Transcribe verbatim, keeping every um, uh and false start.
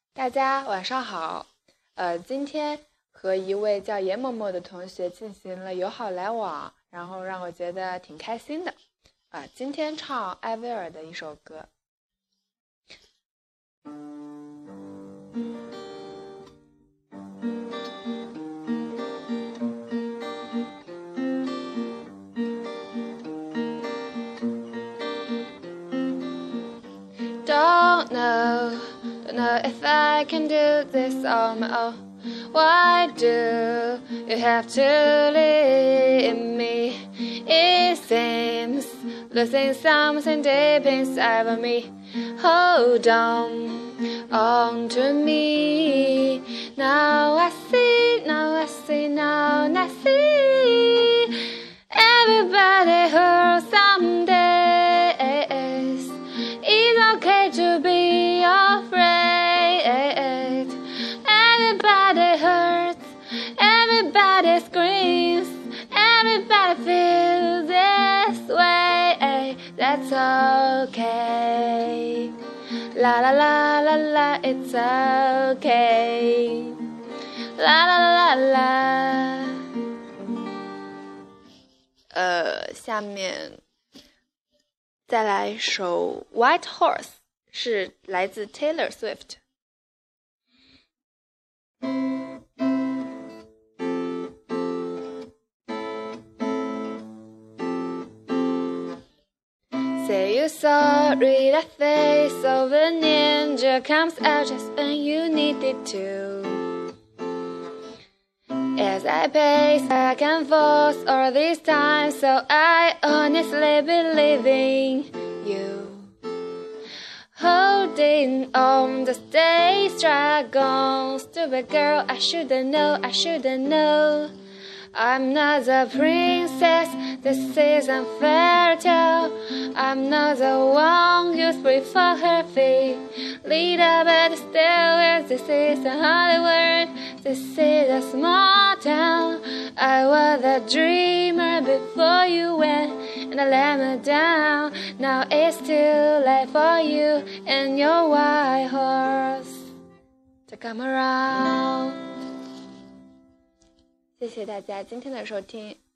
大家晚上好，呃，今天和一位叫严嬷嬷的同学进行了友好来往，然后让我觉得挺开心的，啊、呃，今天唱艾薇儿的一首歌。Don't know, don't know if I can do this on my own. Why do you have to leave me? It seems losing something deep inside of me. Hold on, on to me. Now I see, now I see, now I see. Everybody hurts someday. It's okay to be afraid. Everybody hurts, everybody screams, everybody feels this way. That's okay. La la la la la, it's okay. La la la la la. 呃，下面再来一首 White Horse， 是来自 Taylor Swift。Say you're sorry, that face of a ninja comes out just when you need it to. As I pace back and forth all this time, so I honestly believe in you. Holding on the stage, struggle, stupid girl, I shouldn't know, I shouldn't know. I'm not the princess, this is unfair tale. I'm not the one you free for her feet. Lead up at the stairwell, this is a Hollywood, this is a small town. I was a dreamer before you went, and I let me down. Now it's too late for you and your white horse to come around. 谢谢大家今天的收听。